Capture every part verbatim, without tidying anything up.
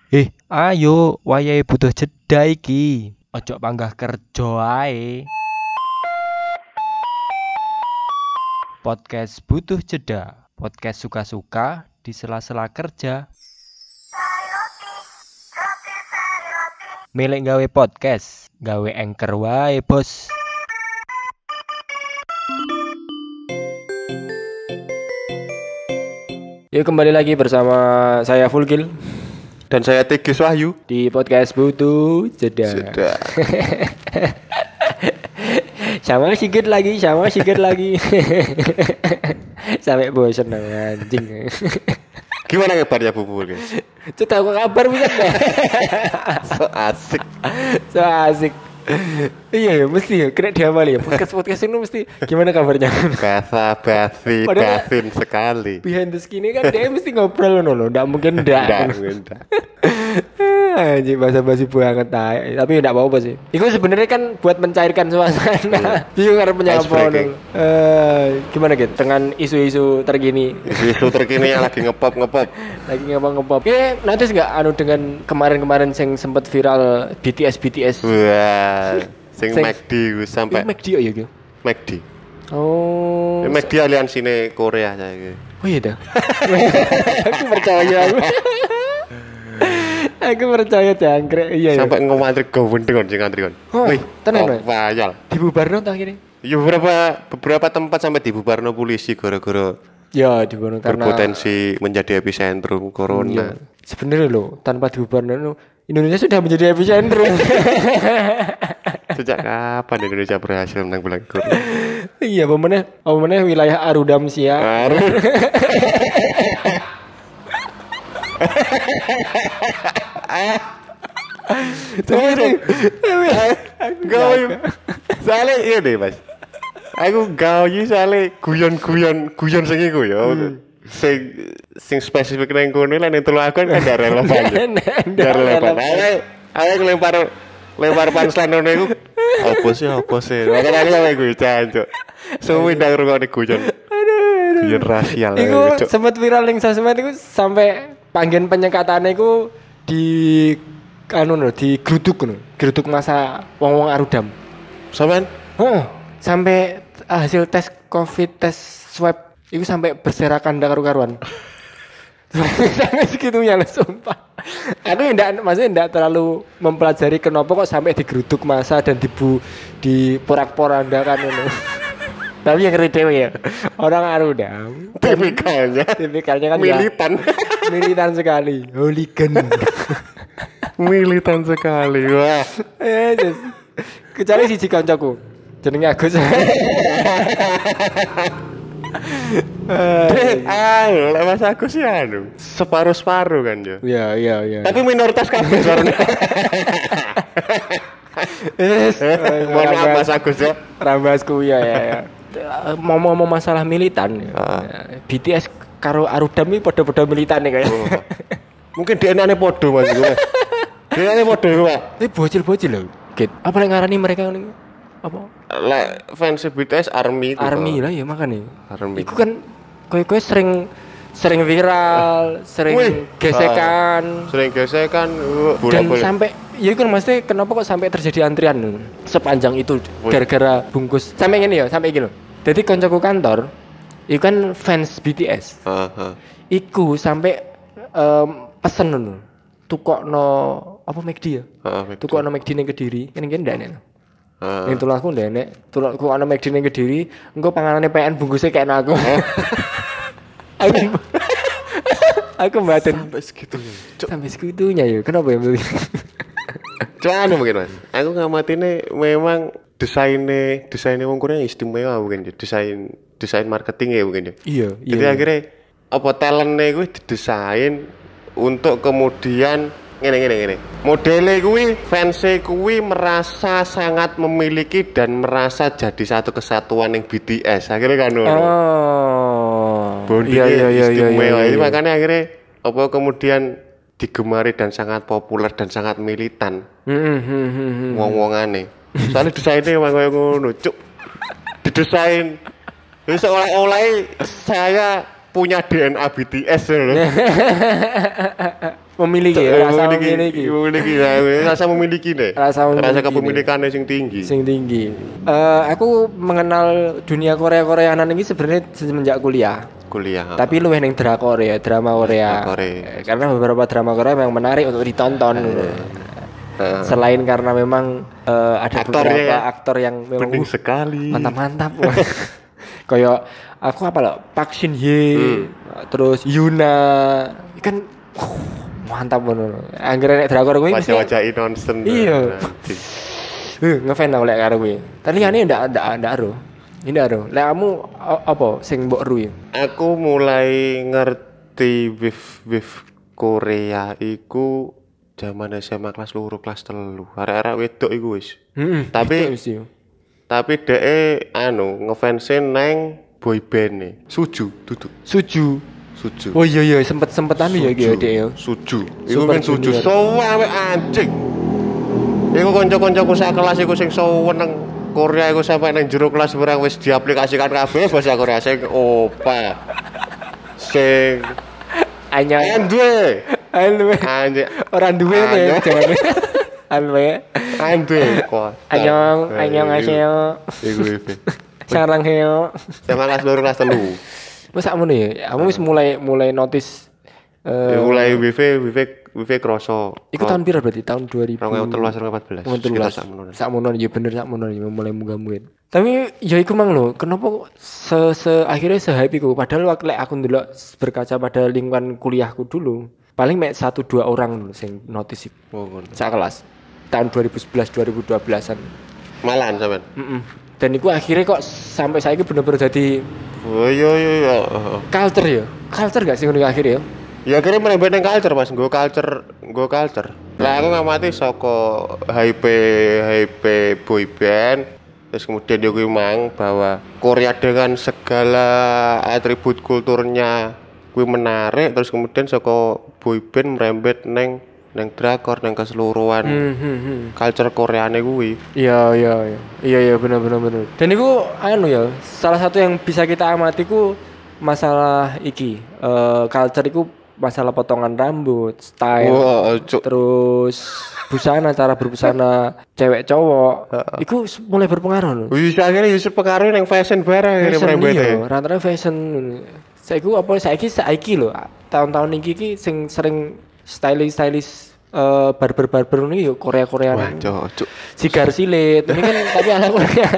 Eh, ayo, wayahe butuh jeda iki. Ojo panggah kerja ae. Podcast butuh jeda. Podcast suka-suka di sela-sela kerja. Milih gawe podcast, gawe anchor wae, Bos. Yuk kembali lagi bersama saya Fulgil Dan saya Tigis Wahyu di podcast butuh jeda. Sudah. Sama sikit lagi, sama sikit lagi. Sampai bosan anjing. Gimana kabarnya Bu Fulgil? Itu tahu kabar bisa enggak? So asik. So asik. Iya ya, mesti ya kena diamali ya. Podcast-podcast ini mesti gimana kabarnya? Basa basi Padahal- basin sekali. Behind the skin ini kan dia mesti ngobrol loh loh. Nggak mungkin ndak. Enggak, enggak. Anjing basa-basi banget tai. Tapi enggak apa-apa sih. Itu sebenarnya kan buat mencairkan suasana. Bingung harus menyapa Icebreaking. dong. Eh, gimana gitu dengan isu-isu terkini? Isu terkini yang lagi ngepop ngepop. Lagi ngepop-ngepop. Eh, notice nggak anu dengan kemarin-kemarin yang sempat viral B T S B T S. Wah, sing Sing- McD wis sampai M C D oh ya gitu. McD. Oh. Ya, McD aliansine Korea saya. Oh iya dah. Aku percaya aku. Aku percaya jangkrik. Iya ya. Sampai ngomantri gowendeng kon sing antri kon. Oh, Wih, tenan, Mas? wayal. Dibubarno tak kene? Ya beberapa beberapa tempat sampai dibubarno polisi gara-gara Ya dibubarno karena berpotensi menjadi epicentrum corona. Iya. Sebenarnya loh, tanpa dibubarno Indonesia sudah menjadi epicentrum. Sejak kapan Indonesia berhasil menang bulan corona? Iya, pemenang, pemenang wilayah Arudam Sia. Baru. Tapi Gawe. Soale iya deh, Mas. Aku gawe soale guyon-guyon guyon sing iku ya. Sing sing spesifik nang kono lan nek telu akun kan ndak relevan. Ndak relevan. Awe awe lempar lempar punchline ngono iku. Apa sih apa sih? Makane aku sampe guyon jancuk. Suwi ndak ngrungokne guyon. Guyon rasial. Iku Cuk. sempat viral ning sosmed iku sampai panggen penyekatane iku di anu no, di geruduk no, geruduk masa wong-wong Arudam. Sampean Oh, sampai hasil tes Covid tes swab itu sampai berserakan ndak karu-karuan. Sampai segitunya lah sumpah. Aku ndak maksudnya ndak terlalu mempelajari kenapa kok sampai digeruduk masa dan dibu di porak-porandakan ngono. Tapi yang ngeri dewe ya. Orang Arudam tipikalnya tipikalnya kan ya, militan. militan sekali, hooligan. Militan sekali. Wah. Eh, just. Kecuali siji kancaku. Jenenge Agus. Ah, lek Mas aku sih anu, separuh-separuh kan yo. Iya, iya, iya. Tapi minoritas kabeh suaranya. Yes. Mohon maaf Mas Agus ya. Rambasku ya ya. ya. Ngomong-ngomong masalah militan ya. Ah. B T S karo Arudam iki padha-padha militan nih kayak. Mungkin D N A-ne podo Mas gue. D N A-ne podo iku, Pak. Ini bocil-bocil loh. Git. Apa yang ngarani mereka ini? Apa? Lek fans B T S Army itu. Army Pak. lah ya makanya. Army. Iku kan kowe-kowe sering sering viral, sering Wih. gesekan. Sering gesekan, uh, Dan bola-bola. sampai ya kan maksudnya kenapa kok sampai terjadi antrian loh, sepanjang itu Wih. gara-gara bungkus sampai gini ya sampai gini loh. Jadi koncoku kantor itu kan fans B T S Heeh, heeh. iku sampai um, pesen loh tukokno apa McD ya Heeh, betul. tukokno McD ning Kediri kan kan ndak enek Heeh. ning tulahku ndak enek tulahku ana McD ning Kediri engko panganane P N bungkusnya kayak aku aku aku mbaten Sampai segitunya. Cuk, sampai segitunya ya kenapa ya beli Cuman mungkin Mas. Aku ngamatine memang desainnya desainnya wong Korea istimewa mungkin ya. Desain desain marketing ya mungkin ya. iya Jadi iya akhirnya apa talentnya gue didesain untuk kemudian ngene ngene ngene. Modelnya gue fansnya gue merasa sangat memiliki dan merasa jadi satu kesatuan yang B T S. Akhirnya kan ngono. oh Bondingnya iya iya iya iya, istimewa. iya, Jadi iya. makanya akhirnya apa kemudian digemari dan sangat populer dan sangat militan. Hmm, hmm, hmm, hmm, hmm. Wong-wongane. Soalnya desainnya emang kayak ngono, cuk. Didesain. Wis oleh-oleh saya punya D N A B T S loh. Memiliki ya, rasa memiliki, memiliki. memiliki nah, rasa memiliki deh. Rasa memiliki. Rasa kepemilikannya sing tinggi. Sing tinggi. Eh aku mengenal dunia Korea-Koreanan ini sebenarnya semenjak kuliah. Kuliah. Tapi lu yang drakor ya, drama Korea. Korea. Karena beberapa drama Korea memang menarik untuk ditonton. Uh. Selain karena memang uh, ada aktornya beberapa ya. aktor yang memang penting uh, sekali. Mantap-mantap. Kayak aku apa loh, Park Shin Hye, hmm. terus Yuna, kan uh, mantap bener. Anggere nek drakor kuwi wajah-wajah innocent. Iya. Heh, ngefan aku lek karo kuwi. Tapi liyane ndak ndak ndak ero. Ini ero. Lek kamu apa sing mbok ru? Aku mulai ngerti wave wave Korea iku zaman S M A kelas loro kelas telu. Arek-arek wedok iku wis. Heeh. Tapi tapi dhek anu ngefans nang boy band e. Suju, duduk. Suju. Suju. Oh iya iya sempet-sempet anu ya iki dhek ya. Suju. Iku kan Suju sowawe anjing. Iku kanca-kancaku sak kelas iku sing seneng Korea iku sampai nang jero kelas barang wis diaplikasikan kabeh bahasa Korea sing opa. Sing Anya Andwe. Andwe. Anje Ora duwe ya jawane. Andwe. Andwe kok. Anyong, anyong aseo. Iku iki. Sarang heo. Sama kelas loro kelas telu. Wes sakmono ya. Kamu wis mulai mulai notice eh uh, mulai W V W V W V kroso. Iku tahun pira berarti? Tahun dua ribu. dua ribu tiga belas dua ribu empat belas. Kita sakmono. Sakmono ya bener sakmono ya mulai munggah-mungkin. Tapi ya iku mang lho, kenapa se, se akhirnya se-hype iku padahal waktu aku ndelok berkaca pada lingkungan kuliahku dulu, paling mek satu dua orang sing notice iku. Oh, ngono. Sak kelas. Tahun dua ribu sebelas dua ribu dua belasan. Malahan sampean. Heeh. Dan iku akhirnya kok sampai saiki bener-bener jadi oh iya iya iya. Culture ya. Culture gak sih ngono akhirnya ya? Ya akhirnya merembet nang culture Mas, nggo culture, nggo culture. Lah aku ngamati saka hype hype boy band, terus kemudian yo kuwi mang bahwa Korea dengan segala atribut kulturnya kuwi menarik, terus kemudian saka boy band merembet nang nang drakor nang keseluruhan hmm, hmm, hmm. culture Koreane kuwi. Iya iya iya. Iya iya benar benar benar. Dan itu anu ya, salah satu yang bisa kita amati ku masalah iki, uh, culture iku masalah potongan rambut, style, wow, terus busana, cara berbusana cewek cowok, uh, itu mulai berpengaruh loh. Wis akhirnya wis pengaruh nang fashion barang akhirnya merembet. Iya, rata-rata fashion. Saiki apa saiki saiki lho, tahun-tahun iki iki sing sering stylish-stylish uh, barber-barber ini yo Korea-Koreaan. Wah, cocok. Sigar silit, ini kan tapi ala Korea.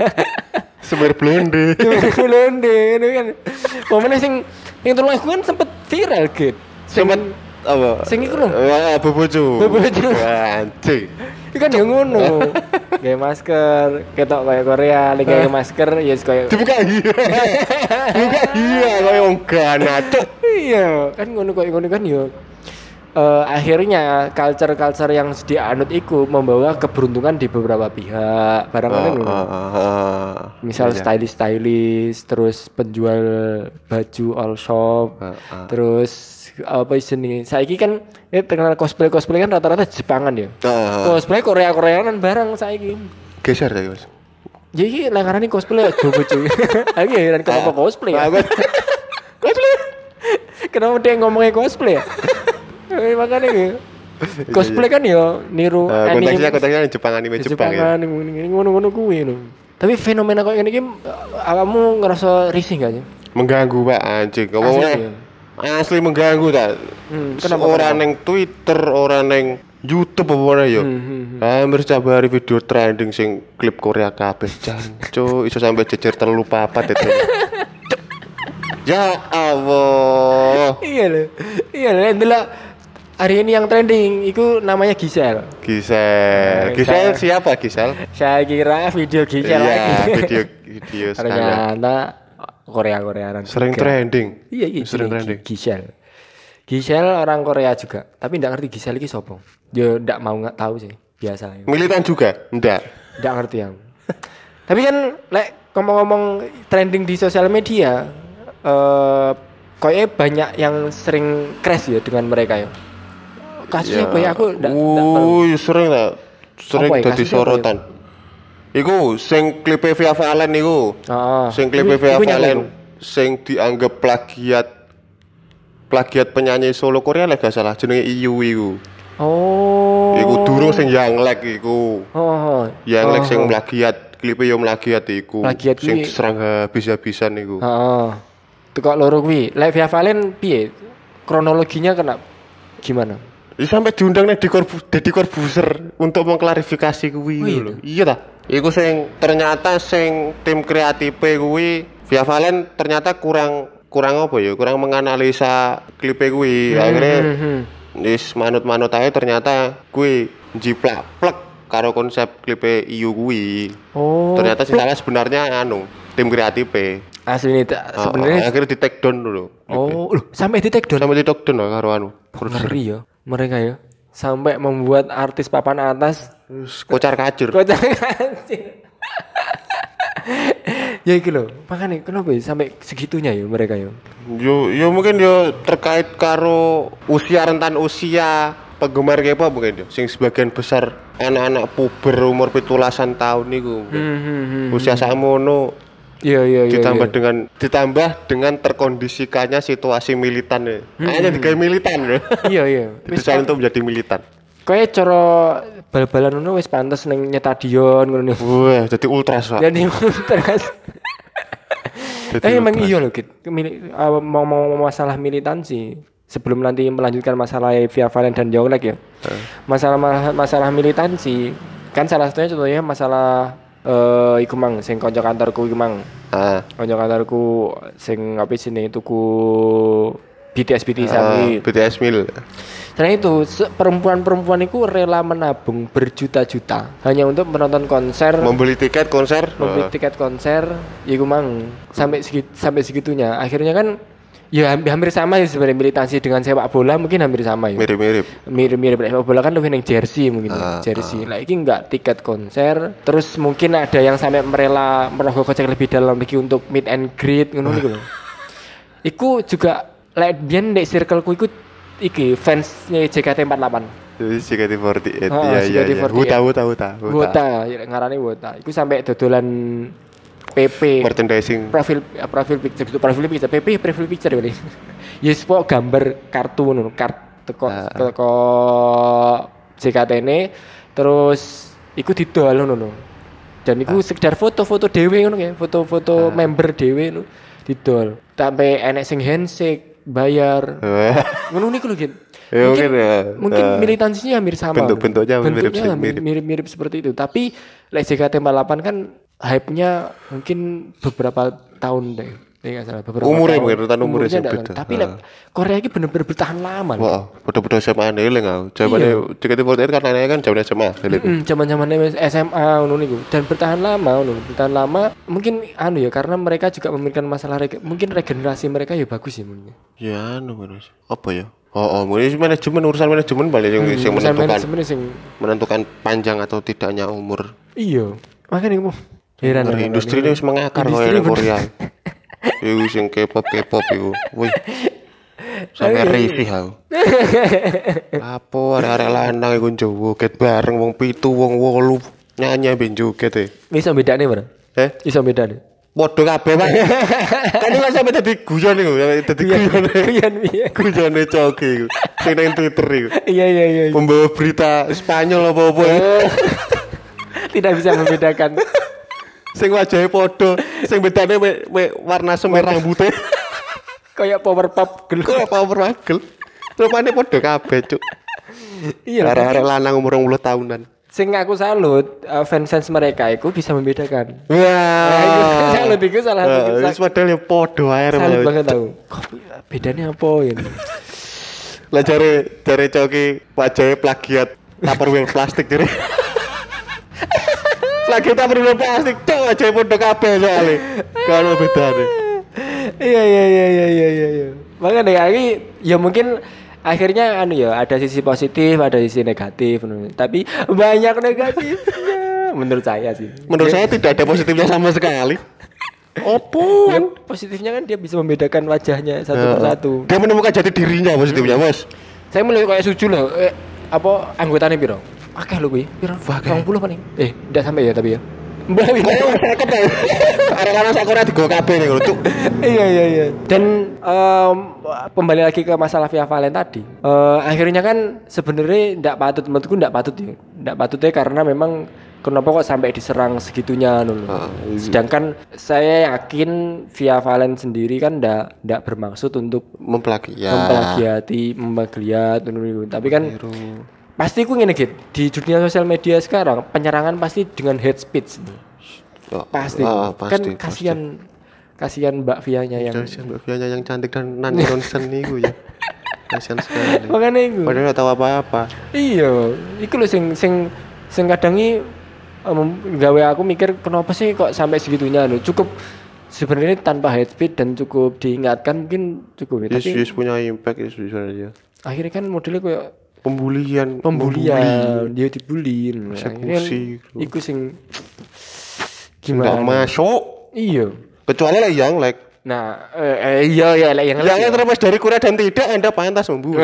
Sebar blonde. Blonde ini kan. Momennya sing yang terlalu aku kan sempet viral gitu. Sempet apa? Sing iku lho. Wah, bobojo. Bobojo. Anjing. Iku kan yo ngono. Gawe masker, ketok kayak Korea, lagi gawe masker ya kayak dibuka iya. Buka iya kayak ongkana. Iya, kan ngono kok ngono kan yo. Uh, akhirnya culture-culture yang dianut itu membawa keberuntungan di beberapa pihak barangkali uh, uh, uh, uh, misal iya. stylish-stylish terus penjual baju all shop uh, uh. terus apa isine saiki kan ya terkenal cosplay cosplay kan rata-rata Jepangan ya uh, uh. cosplay Korea-Koreaan barang saiki geser tadi Mas ya iki langarane cosplay bojo aku heran kenapa cosplay ya cosplay kenapa dia ngomongnya cosplay ya Eh makanya gitu. Cosplay kan ya niru uh, anime. Konteksnya konteksnya Jepang anime Jepang, Jepang ya. Jepang ngono-ngono kuwi lho. Tapi fenomena kok ngene iki kamu ngerasa risih gak sih? Mengganggu Pak anjing. Ngomongnya asli mengganggu ta. Hmm, kenapa ora ning Twitter, ora ning YouTube apa ora ya. Hmm, hmm, Hampir setiap hari video trending sing klip Korea kabeh jancu iso sampai jejer telu papat itu. Ya Allah. Iya lho. Iya lho ndelok hari ini yang trending itu namanya Gisel. Gisel. Gisel siapa Gisel? Saya kira video Gisel iya, lagi. video video ternyata Korea-Koreaan. Sering juga. Trending. Iya, iya, sering iya, trending. Gisel. Gisel orang Korea juga, tapi enggak ngerti Gisel iki sapa. Yo enggak mau enggak tahu sih, biasa. Militan juga? Enggak. Enggak ngerti yang. Tapi kan lek ngomong-ngomong trending di sosial media, eh uh, kayaknya banyak yang sering crash ya dengan mereka ya. Kasusnya apa ya aku enggak tahu. Sering lah. Sering dadi sorotan. Iku sing klipe Via Valen iku. Heeh. Sing klipe Via Valen. sing dianggap plagiat plagiat penyanyi solo Korea lek gak salah jenenge I U iku. Oh. Iku durung sing Yanglek iku. Oh. Yanglek oh. sing plagiat, klipe yo plagiat iku. Plagiat sing kuwi. diserang habis-habisan iku. Heeh. Tekok loro kuwi. Lek Via Valen piye? Kronologinya kena gimana? Ya sampai diundang nih di Corbu, Deddy Corbuzier untuk mengklarifikasi kuwi oh, iya. lho. Iya ta? Iku sing ternyata sing tim kreatif kuwi Via Valen ternyata kurang kurang apa ya? Kurang menganalisa klipe kuwi. Hmm, Akhirnya hmm, hmm. Wis manut-manut ae ternyata kuwi jiplak plek karo konsep klipe I U kuwi. Oh. Ternyata sing salah sebenarnya anu, tim kreatif. Asli ini sebenarnya oh, akhirnya di take down dulu. Oh, loh, sampai di take down. Sampai di take down karo anu. Ngeri ya mereka ya. Sampai membuat artis papan atas kocar kacir. Kocar kacir. Ya iki lho, makane kenapa ya sampai segitunya ya mereka ya. Yo yo mungkin yo terkait karo usia rentan usia penggemar K-pop mungkin yo. Sing sebagian besar anak-anak puber umur pitulasan tahun niku. Hmm, hmm, hmm, usia sakmono. Iya iya iya. Ditambah iya. dengan ditambah dengan terkondisikannya situasi militan ya. Hmm, Kayaknya digawe militan ya. Iya iya. Didesain untuk menjadi militan. Kayak cara bal-balan ngono wis pantes ning stadion ngono. Wah, jadi ultras, Pak. Jadi ultras. Eh emang iya loh, Kit. Mau mau masalah militansi. Sebelum nanti melanjutkan masalah Via Valen dan Yonglek ya. Hmm. Masalah masalah militansi kan salah satunya contohnya masalah eh uh, iku mang sing kanca kantorku iku mang. Heeh. Kanca kantorku sing apa sini tuku B T S B T S uh, B T S mil. Karena itu perempuan-perempuan itu rela menabung berjuta-juta hanya untuk menonton konser, membeli tiket konser, membeli uh. tiket konser, iku mang sampai segit, sampai segitunya. Akhirnya kan ya hampir, hampir sama ya sebenarnya militansi dengan sepak bola mungkin hampir sama ya. Mirip-mirip. Mirip-mirip sepak bola kan lebih neng jersey mungkin uh, jersey. Uh. Lah iki enggak tiket konser, terus mungkin ada yang sampai merela merogoh kocek lebih dalam lagi untuk meet and greet ngono niku lho. Iku juga lek biyen ndek circleku iku iki fansnya J K T empat puluh delapan. J K T empat puluh delapan. Iya iya iya. Wuta wuta wuta. Wuta, ngarane wuta. Iku sampai dodolan P P merchandising profil profil picture itu profil picture P P profil picture ini. Yes, pok gambar kartu ngono, kart teko teko J K T ini terus iku didol ngono. Dan iku sekedar foto-foto dhewe ngono ya, foto-foto member dhewe ngono didol. Sampai enek sing handshake bayar. Ngono niku lho, Gin. Ya, mungkin, mungkin, ya. mungkin uh, militansinya hampir sama. Bentuk-bentuknya mirip, mirip, mirip, mirip seperti itu. Tapi like J K T empat puluh delapan kan hype-nya mungkin beberapa tahun deh. Ya enggak salah, beberapa umurnya tahun. Umurnya mungkin rentan umurnya sing beda. Tapi uh. like, Korea ini bener-bener bertahan lama. Wah, bodoh-bodoh S M A nih lho. Jamane J K T empat puluh delapan kan anaknya kan zaman S M A. Heeh, zaman-zaman S M A ngono niku. Dan bertahan lama ngono, bertahan lama. Mungkin anu ya karena mereka juga memikirkan masalah rege, mungkin regenerasi mereka ya bagus ya mungkin. Ya anu Mas. Apa ya? Oh, oh, mungkin manajemen urusan manajemen balik yang, hmm, yang menentukan yang... menentukan panjang atau tidaknya umur. Iya, makanya aku heran. Industri ini harus mengakar kok yang Korea. Iku sing K-pop K-pop iku. Wih. Sampai review aku. Apa arek-arek lanang iku joget bareng wong pitu wong wolu nyanyi ben joget e. Iso bedane, Bro? Eh? Iso bedane. Podo kabeh, Pak. Kan iki sampe dadi guyon iku, dadi guyon. Guyon piye? Guyone coki iku. Sing nang Twitter iku. Iya iya iya. Pembawa berita Spanyol apa-apa. Tidak bisa membedakan. Sing wajahe podo, sing bedane me, me warna semir rambutnya. Kayak power pop gel. Kayak power pop gel. Rupane podo kabeh, Cuk. Iya. Arek-arek lanang umur dua puluh tahunan. Sing aku salut uh, fans-fans mereka itu bisa membedakan. Wah. Wow. Salut iku salah satu. Wis padahal ya podo ae. Salut banget tahu. Kok bedanya apa ini? Lah jare jare coki wajahe plagiat Tupperware plastik jare. Plagiat Tupperware plastik cok wajahe podo kabeh soalé. Kalau bedane. Iya iya iya iya iya iya. Makanya dari ya mungkin akhirnya anu ya ada sisi positif ada sisi negatif tapi banyak negatifnya menurut saya sih menurut saya tidak ada positifnya sama sekali. Opo ya, positifnya kan dia bisa membedakan wajahnya satu uh, persatu dia menemukan jati dirinya positifnya Bos. Saya mulai kayak suju loh eh, apa anggotanya piro akeh lho kuwi piro dua puluh paling eh enggak sampai ya tapi ya Mbak Ayo seket ya. Arek-arek sakura digo kabeh ning ngono, Cuk. Iya iya iya. Dan um, kembali lagi ke masalah Via Valen tadi. Uh, akhirnya kan sebenarnya enggak patut, menurutku enggak patut ya. Enggak patutnya karena memang kenapa kok sampai diserang segitunya dulu. Uh, Sedangkan saya yakin Via Valen sendiri kan enggak enggak bermaksud untuk memplagiat. Memplagiati, memplagiat dulu. Tapi kan Biru. Pasti ku ngene gitu. Di dunia sosial media sekarang penyerangan pasti dengan hate speech. Oh, pasti. Oh, pasti. Kan kasihan kasihan Mbak Vianya yang kasihan Mbak Vianya yang cantik dan non nonsen niku ya. Kasihan sekali. Makanya iku. Padahal enggak tahu apa-apa. Iya, iku lho sing sing sing kadang iki um, gawe aku mikir kenapa sih kok sampai segitunya lho. Cukup sebenarnya tanpa hate speech dan cukup diingatkan mungkin cukup ya. Yes, tapi yes, punya impact ya sebenarnya. Akhirnya kan modelnya kayak pembulian, pembulian, dia dibully. Eksekusi. Iku sing gimana? Enggak masuk. Iya. Kecuali lah yang like. Nah, eh, iya ya like yang like. Yang terlepas dari kurang dan tidak Anda pantas membunuh.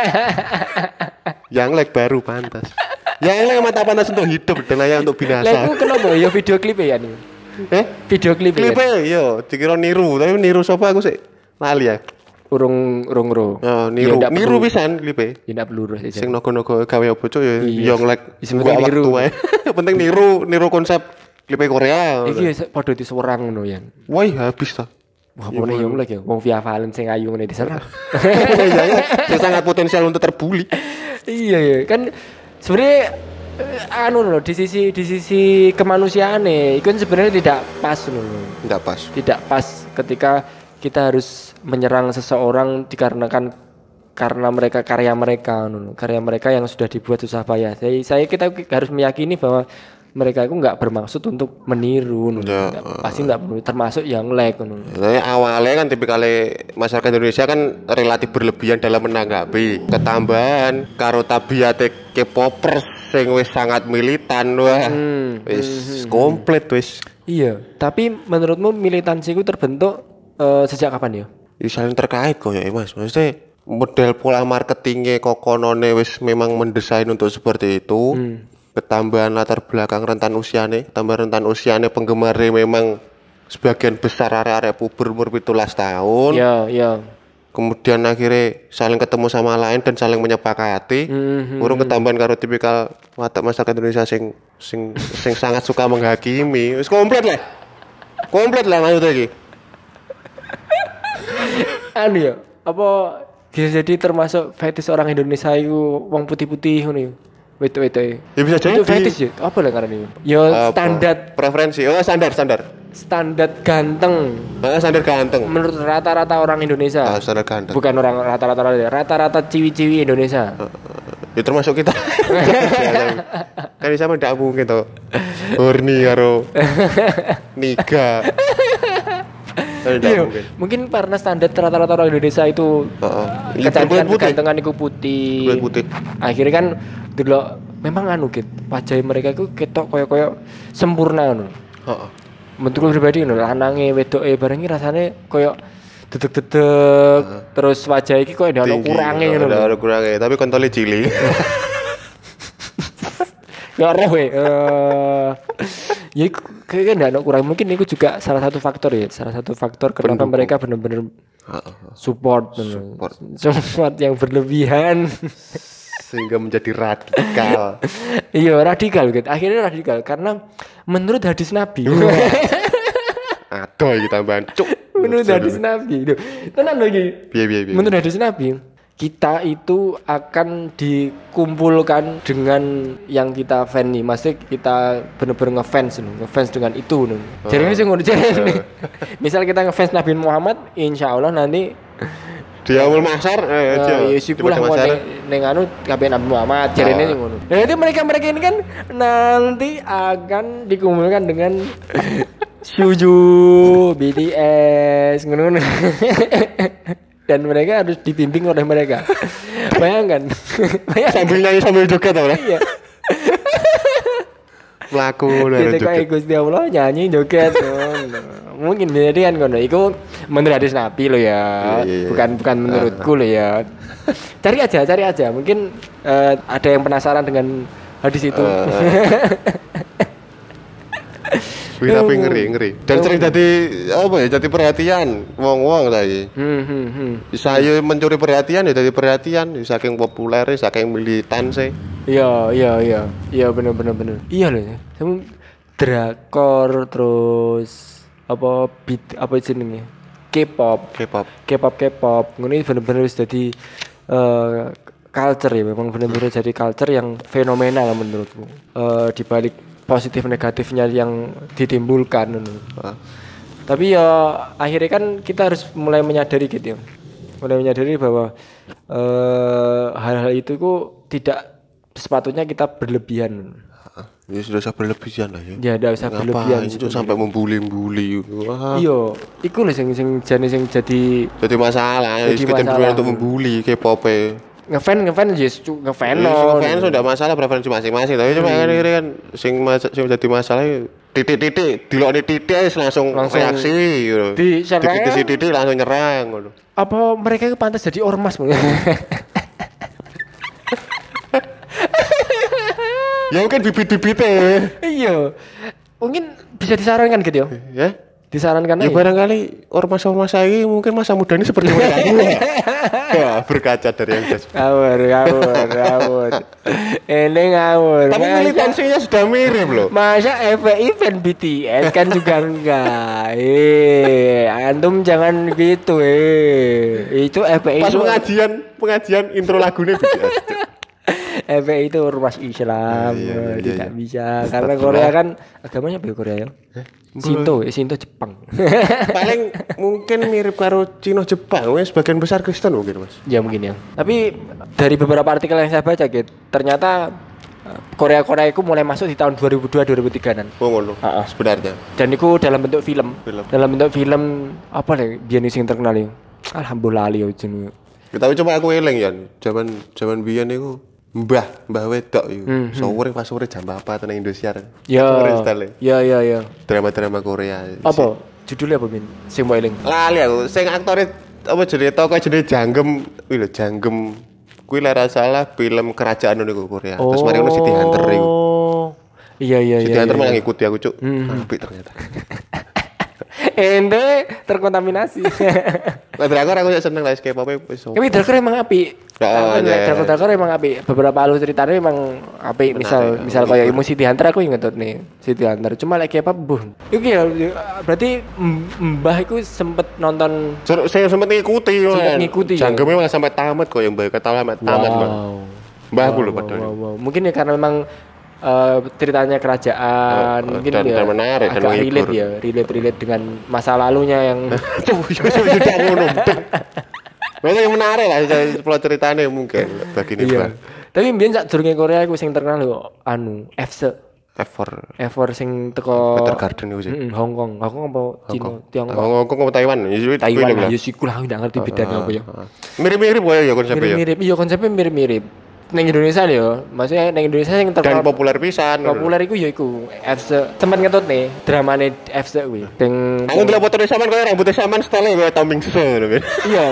Yang like baru pantas. Yang like mata pantas untuk hidup dan layak untuk binasa. Lah iku kenapa ya video klip ya nih? Eh? Video klip. Klip ya, yo, dikira niru, tapi niru sapa aku sih lali ya. Urung urung ro. Oh, niru ya, niru pisan klipe. Ya ndak perlu sih. Sing nogo-nogo gawe apa cuk ya yang like gua niru wae. Penting niru niru konsep klipe Korea. Iki padha diserang ngono ya. Wah, habis ta. Wah, ngene yo lek ya wong Via Valen sing ayu ngene diserang. Sing sangat potensial untuk terbuli. Iya ya, kan sebenarnya anu loh di sisi di sisi kemanusiaane itu kan sebenarnya tidak pas loh. Tidak pas. Tidak pas ketika kita harus menyerang seseorang dikarenakan karena mereka karya mereka, karya mereka yang sudah dibuat susah payah. Saya, saya kita harus meyakini bahwa mereka itu nggak bermaksud untuk meniru, ya, nggak, uh, pasti nggak perlu, termasuk yang like. Nah, awalnya kan tipikalnya masyarakat Indonesia kan relatif berlebihan dalam menanggapi ketambahan karo tabiate K-popers sing wis sangat militan wah, hmm, wis hmm, komplit wis. Iya, tapi menurutmu militansi itu terbentuk Uh, sejak kapan ya? Ya saling terkait kok ya Mas. Maksudnya model pola marketingnya kokonone wis memang mendesain untuk seperti itu. Hmm. Ketambahan latar belakang rentan usiane, tambah rentan usiane penggemarnya memang sebagian besar area-area puber umur tujuh belas tahun. Iya, iya. Kemudian akhirnya saling ketemu sama lain dan saling menyepakati. Hmm, Urung hmm, ketambahan karo tipikal watak masyarakat Indonesia sing sing sing sangat suka menghakimi. Wis komplit lah. Komplit lah maksudnya iki. Anu ya, apa bisa jadi termasuk fetish orang Indonesia itu wong putih-putih ngono ya. Wetu-wetu. Ya bisa jadi. Itu fetish ya. Apa lah karena ya standar preferensi. Oh, standar standar. Standar ganteng. Ah, standar ganteng. Menurut rata-rata orang Indonesia. Ah, standar ganteng. Bukan orang rata-rata orang rata-rata ciwi-ciwi Indonesia. Uh, ya termasuk kita. Kan sama ndak mungkin to. Horny karo niga. Iya, mungkin karena standar rata-rata orang Indonesia itu uh, kecantikan kegantengan itu putih. putih. Akhirnya kan dulu memang anu gitu, wajah mereka itu ketok koyo-koyo sempurna anu. Heeh. Menurutku pribadi ngono, lanange wedoke barengi rasane koyo dedeg-dedeg, uh, terus wajah iki koyo ndak ono kurange ngono. Ndak ono kurange, tapi kontole cilik. Ya ora we. Eh ya kayaknya enggak ada kurang, mungkin itu juga salah satu faktor ya, salah satu faktor kenapa pendukung. Mereka benar-benar support support. support yang berlebihan sehingga menjadi radikal. Iya, radikal gitu. Akhirnya radikal karena menurut hadis Nabi. Aduh iki tambahan cuk. Menurut hadis Nabi. Tenan lho iki. Menurut hadis Nabi, kita itu akan dikumpulkan dengan yang kita fan nih, maksudnya kita bener-bener ngefans nih, ngefans dengan itu nih. Oh. Jadi ini sih ngono jadi. Misal kita ngefans Nabi Muhammad, insya Allah nanti di awal mahsyar, eh, uh, ya sipulah neng anu kabeh Nabi Muhammad, jadi ini sih ngono. Jadi mereka-mereka ini kan nanti akan dikumpulkan dengan Suju, B T S, ngono. Dan mereka harus dibimbing oleh mereka. Bayangkan. Bayangkan. Sambil nyanyi sambil joget tau lah. Iya. Melaku lah joget. Ketika Gusti Allah nyanyi joget. Mungkin jadi kan kono. Iku menurut hadis Nabi lo ya. Iya, iya, bukan bukan menurutku lo ya. Cari aja, cari aja. Mungkin uh, ada yang penasaran dengan hadis itu. Uh. Wih, tapi ngeri ngeri. Dan sering jadi apa ya? Jadi perhatian wong-wong tadi. Hmm, hmm, hmm. Saya mencuri perhatian ya jadi perhatian, saking populer, saking militan sih. Iya, iya, iya. Iya bener bener bener. Iya loh. Sama drakor terus apa beat apa jenenge? K-pop. K-pop. K-pop K-pop. Ngono iki bener-bener wis dadi uh, culture ya, memang bener-bener jadi culture yang fenomenal menurutku. Uh, di balik positif negatifnya yang ditimbulkan uh. Tapi ya akhirnya kan kita harus mulai menyadari gitu ya. Mulai menyadari bahwa uh, hal-hal itu kok tidak sepatutnya kita berlebihan. Ya sudah usah berlebihan lah ya. Ya tidak usah berlebihan itu sampai membuli-membuli. Wah. Iya, iku lho sing sing jane sing jadi jadi masalah, jadi masalah untuk membuli K-pop. Ngefan ngefan yes ngefan. Ngefan sudah masalah preferensi masing-masing, tapi cuma kan ini kan sing sing jadi masalah titik-titik dilokne titik langsung, langsung reaksi gitu. Di titik-titik langsung nyerang ngono. Apa mereka itu pantas jadi ormas? Ya mungkin bibit-bibitnya. Iya. Mungkin bisa disarankan gitu ya. Ya. Disarankan ya. Ya barangkali ormas-ormas ini mungkin masa muda ini seperti mereka. Ya, berkaca dari yang jelas. Ngawur, ngawur, ngawur. Ini ngawur. Tapi militansinya sudah mirip loh. Masa event B T S kan juga enggak. Eh, antum jangan gitu eh. Itu F P I. Pas pengajian, pengajian intro lagunya B T S. F P I itu ormas Islam, ah, iya, iya, tidak iya. bisa karena Korea kan agamanya apa ya Korea ya? Eh? Shinto, eh, Shinto Jepang. Paling mungkin mirip karo Cina Jepang, wes sebagian besar Kristen mungkin mas. Ya mungkin ya. Tapi dari beberapa artikel yang saya baca gitu, ternyata Korea Korea itu mulai masuk di tahun dua ribu dua dua ribu tiga-an. Oh ngono. Heeh, sebenarnya. Dan itu dalam bentuk film. film. Dalam bentuk film apa nih? Biyen sing terkenal ya. Alhamdulillah ya jenenge. Tapi coba aku eling ya, zaman zaman biyen niku Mbah, mbah wedok iku. Hmm, sore pas sore jam apa tenan Indosiar. Ya. Ya ya ya. Drama-drama Korea. Apa? Judulnya apa, Min? Sing mbok eling. Lali aku, sing aktore apa jenenge tokoh jenenge Janggem, kuwi lho Janggem. Kuwi lara salah film kerajaan niku Korea. Oh. Terus mari ngono Siti Hunter iku. Iya iya iya. Siti Hunter iya, malah iya. ngikuti aku, Cuk. Hmm. Apik ternyata. Ente terkontaminasi. Lah drakor aku seneng lah K-pop wis. Tapi drakor emang apik. Heeh, drakor-drakor emang apik. Beberapa alur ceritanya emang apik. Misal misal kayak Siti Hunter aku inget nih. Siti Hunter. Cuma like K-pop buh. Iku ya berarti Mbah iku sempet nonton. Saya sempet ngikuti. Sempet ngikuti. Janggemnya malah sampai tamat kok yang Mbah kata tamat tamat Mbah. Mbah aku lho padahal. Mungkin ya karena memang Uh, ceritanya kerajaan uh, mungkin dan, ya dan menarik, agak dan relate ya relate relate dengan masa lalunya yang sudah ngono. Memang yang menarik lah plot ceritanya mungkin bagi ini. Iya. Tapi mbiyen sak durunge Korea aku sing terkenal lho anu F S F four F four sing teko Peter Garden iku sih. Heeh, Hong Kong. Hong Kong apa Cina, Tiongkok. Hong Kong apa Taiwan? Taiwan lah ya siku lah ndak ngerti bedanya apa ya. Mirip-mirip wae ya konsepnya ya. Mirip-mirip, iya konsepnya mirip-mirip. Neng Indonesia ya, maksudnya neng Indonesia yang terkenal dan populer pisan. Populer iku ya iku F S sempat ngetut nih dramane F S kuwi. Sing aku ndelok foto sampean koyo rambutnya sampean style kaya Tom Mingse ngono. Iya.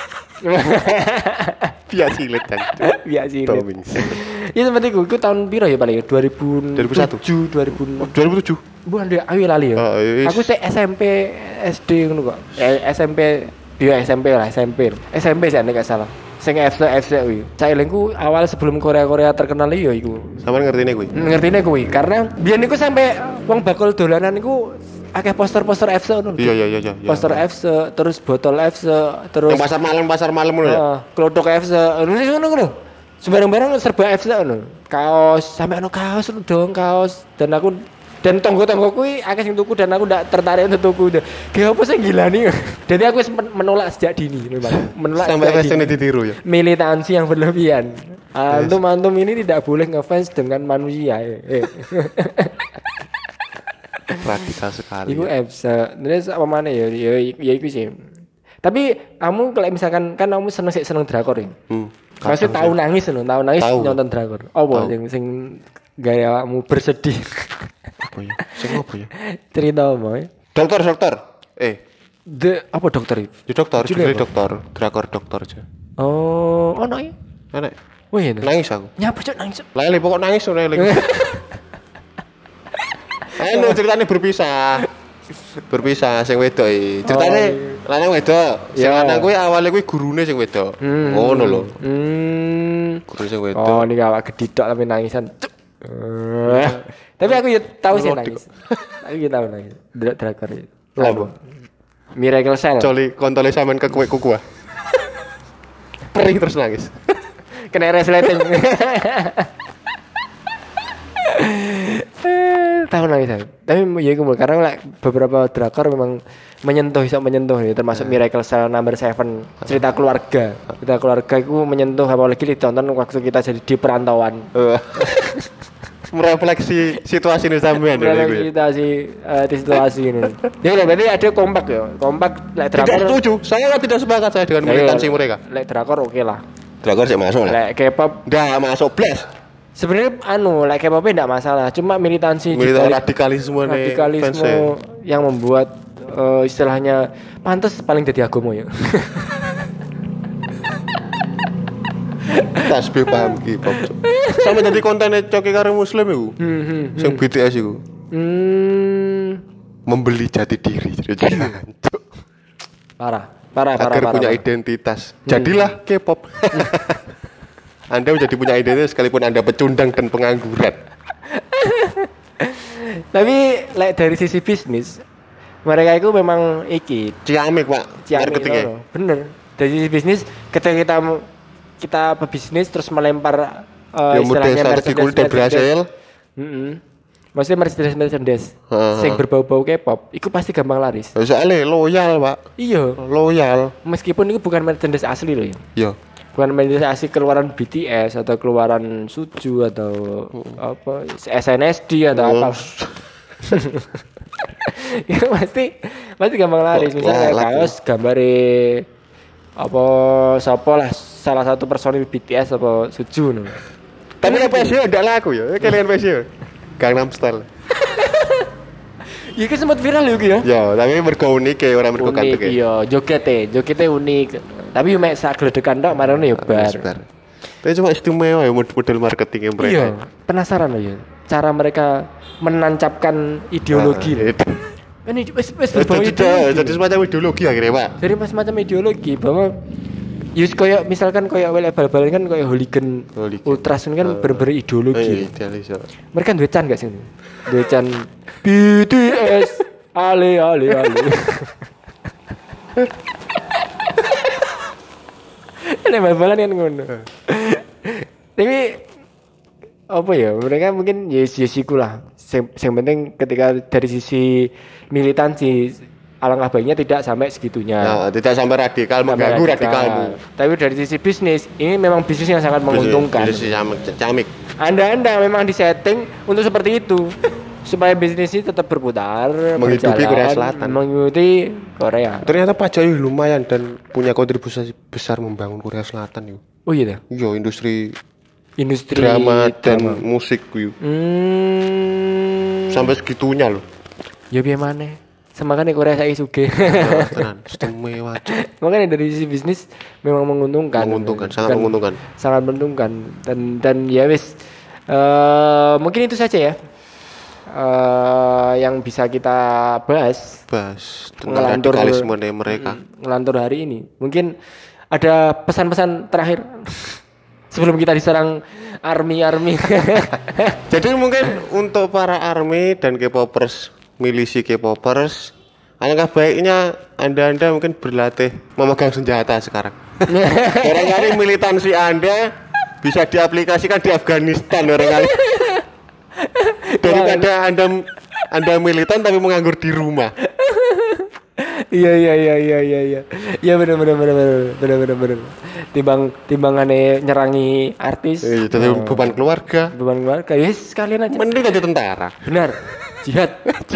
Biasa cilik kan. Biasa cilik. Tom Mingse. Iya seperti iku, iku tahun piro ya paling dua ribu tujuh dua ribu enam dua ribu tujuh Bukan dia awi lali ya. Oh, aku sih S M P S D ngono kok. Eh, S M P dia S M P lah, S M P. S M P sih nek gak salah. Sing F C F C kuwi. Sailengku awal sebelum Korea-Korea terkenal ya iku. Sampeyan ngertine kuwi? Ngertine kuwi karena biyen niku sampe wong bakul dolanan niku akeh poster-poster F C ngono. Iya iya iya iya. Poster F C, terus botol F C, terus yang pasar malam pasar malam ngono ya. Heeh, klothok F C. Ngono ngono. Sembarang-barang serba F C ngono. Kaos, sampe ono kaos dong, kaos dan aku dan tonggo-tonggo kuwi akeh sing tuku dan aku ndak tertarik untuk tuku. Kayak apa sih gilani. Jadi aku menolak sejak dini memang. Menolak sampai fashion ditiru ya. Militansi yang berlebihan. Antum-antum ini tidak boleh ngefans dengan manusia. Eh. Radikal sekali. Iku F C. Terus apa mana ya? Ya ya iku sih. Tapi kamu kalau misalkan kan kamu seneng sih seneng drakor ya. Hmm. Maksudnya tahu nangis loh, tahu nangis tau. Nonton drakor. Apa sing sing gaya kamu bersedih? Apa ya? Sing apa ya? Cerita apa ya? Dokter, dokter. Eh, The apa dokter itu? Di dokter, judulnya dokter, drakor dokter aja. Oh, oh nangis. Enak. Wah, iya. Nangis aku. Nyapa cok nangis. Lali pokok nangis lali. Anu ceritanya berpisah. Berpisah sing wedok iki. Ceritane Oh, lanang wedok. Sing Iya. lanang kuwi awale kuwi gurune sing wedok. Hmm. Ngono lho. Hmm. Guru sing wedok. Oh, ini awak gedidok tapi nangisan. Cuk. Eh. Tapi aku ya tahu sih Melodi nangis. Aku ya tahu nangis. Dra- Drakor itu. Labo. Miracle Cell. Coli kontole sampean ke kuek kuku. Perih terus nangis. Kena resleting. Tahu nangis aku. Tapi ya iku karena like, beberapa drakor memang menyentuh bisa menyentuh ya termasuk Miracle Cell Number Seven cerita keluarga. Cerita keluarga itu menyentuh apalagi ditonton waktu kita jadi di perantauan. Eh. Merefleksi situasi ini sampean ya. Berapa iku ya. kita sih eh, di situasi ini. Ya udah berarti ada kompak ya. Kompak like Tidak drakor. setuju. Saya tidak sepakat saya dengan militansi mereka. Like drakor oke lah. Drakor sih masuk lah. Like K-pop Nggak masuk blas. sebenarnya anu like K-pop enggak masalah. Cuma militansi Militan dibalik radikalisme nih. radikalisme yang membuat eh, istilahnya pantas paling jadi agama ya. Tasbih paham K-pop. Sama jadi kontennya coki karo muslim iku. Hmm, hmm, Sing B T S iku. hmm. Membeli jati diri. Jadi hancur. Parah, parah, parah, Agar parah. punya parah. identitas. Jadilah K-pop. Anda menjadi punya identitas sekalipun Anda pecundang dan pengangguran. Tapi like dari sisi bisnis mereka itu memang iki Ciamik, Pak. ciamik Marketingnya. loh. Bener. Dari sisi bisnis ketika kita kita pebisnis terus melempar uh, Ya model strategi kulit dan berhasil. Heeh. Maksudnya Mercedes Mercedes Heeh. sing berbau-bau K-pop itu pasti gampang laris. Ya, soalnya loyal, Pak. Iya, Loyal. meskipun itu bukan Mercedes asli loh ya. Ya. Bukan Mercedes asli keluaran B T S atau keluaran Suju atau apa S N S D atau apa. Ya pasti pasti gampang laris. Misalnya kayak Lah, kaos gambare apa siapa lah salah satu personil B T S apa Suju no. Tapi apa sih enggak laku ya? Kalian P S ya? Gangnam Style. Iya kan sempat viral ya ya. Ya, tapi mergo unik ya orang mergo Unik kanteke. iya, jogetnya, jogetnya unik. Tapi yo mek sak gledekan tok marane yo bar. Sebentar. Tapi cuma istimewa ya model marketingnya mereka. Iya, penasaran loh ya. Cara mereka menancapkan ideologi. Nah, itu. Kan ini wis wis Jadi, berbau jadi, ideologi. jadi semacam ideologi akhirnya, Pak. Jadi pas macam ideologi bahwa Yus koyo misalkan koyo awal bal-balan kan koyo hooligan, Hooligan. ultras ini kan bener-bener Eh, ideologi. idealis ya. Mereka duwe can gak sih? Duwe can B T S ale ale ale. Ini bal-balan kan ngono. Tapi apa ya? Mereka mungkin yes yes iku lah. Yang penting ketika dari sisi militansi alangkah baiknya tidak sampai segitunya. Nah, tidak sampai radikal Sampai mengganggu radikal. radikalmu. Tapi dari sisi bisnis, ini memang bisnis yang sangat menguntungkan. Bisnis camik, camik. Anda-anda memang disetting untuk seperti itu. Supaya bisnis ini tetap berputar, Menghidupi berjalan, Korea Selatan. Mengikuti Korea. Ternyata Pak Jokowi lumayan dan punya kontribusi besar membangun Korea Selatan yuk. Oh iya dah. Yo, industri Industri drama dan drama. musik yuk. Hmm. Sampai segitunya loh. Ya biar mana? Semakanya Korea saya suge. Nah, tenan, istimewa. Cuk. Makanya dari sisi bisnis memang menguntungkan. Menguntungkan, sangat Dan- menguntungkan. Sangat menguntungkan dan dan ya wis eh, mungkin itu saja ya. Eh, yang bisa kita bahas Bas tentang Ngelantur- radikalisme dari mereka. ngelantur hari ini. Mungkin ada pesan-pesan terakhir sebelum kita diserang army-army. Jadi mungkin untuk para army dan K-popers, milisi K-popers, alangkah baiknya Anda-anda mungkin berlatih memegang senjata sekarang. Barangkali militansi Anda bisa diaplikasikan di Afghanistan barangkali. Daripada Anda Anda militan tapi menganggur di rumah. Iya iya iya iya iya iya. Iya benar benar benar benar benar benar benar. Timbang timbangane nyerangi artis. Eh, Jadi beban keluarga. Beban keluarga. Ya sekalian aja. Mending jadi tentara. Benar. Jihad.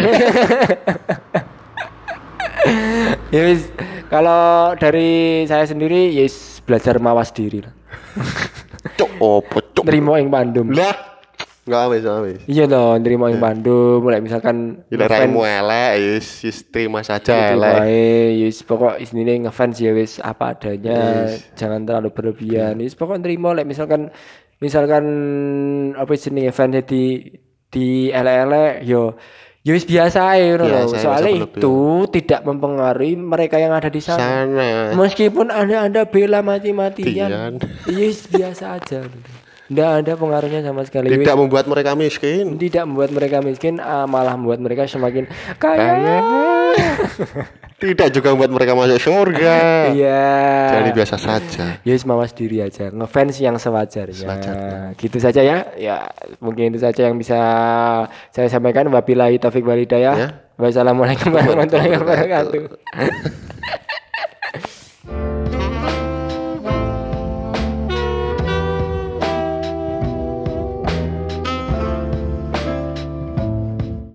Ya wis, kalau dari saya sendiri yes belajar mawas diri lah. Cuk, opo cuk. Nerimo ing Bandung. Lah, enggak wis, enggak wis. Iya dong, nerimo ing Bandung. Mulai misalkan Bila raimu elek, yes, yes, terima saja gitu elek. bae, yes pokok isine ngefans ya wis apa adanya, Yes. jangan terlalu berlebihan. Yes pokok nerimo lek misalkan misalkan apa jenenge fans di di elek-elek yo Ya wis biasa ya loh. Biasa, Soalnya biasa itu tidak mempengaruhi mereka yang ada di sana. Sana. Meskipun Anda Anda bela Tian. mati-matian, ya wis biasa aja. Tidak ada pengaruhnya sama sekali. Tidak Wis, membuat mereka miskin. tidak membuat mereka miskin, ah, malah membuat mereka semakin kaya. Kaya. Tidak juga membuat mereka masuk surga. Iya. Jadi biasa saja. Ya wis mawas diri aja, ngefans yang sewajarnya. Sewajarnya. Gitu saja ya. Ya, mungkin itu saja yang bisa saya sampaikan. Wabillahi taufik wal hidayah. Ya. Wassalamualaikum warahmatullahi wabarakatuh.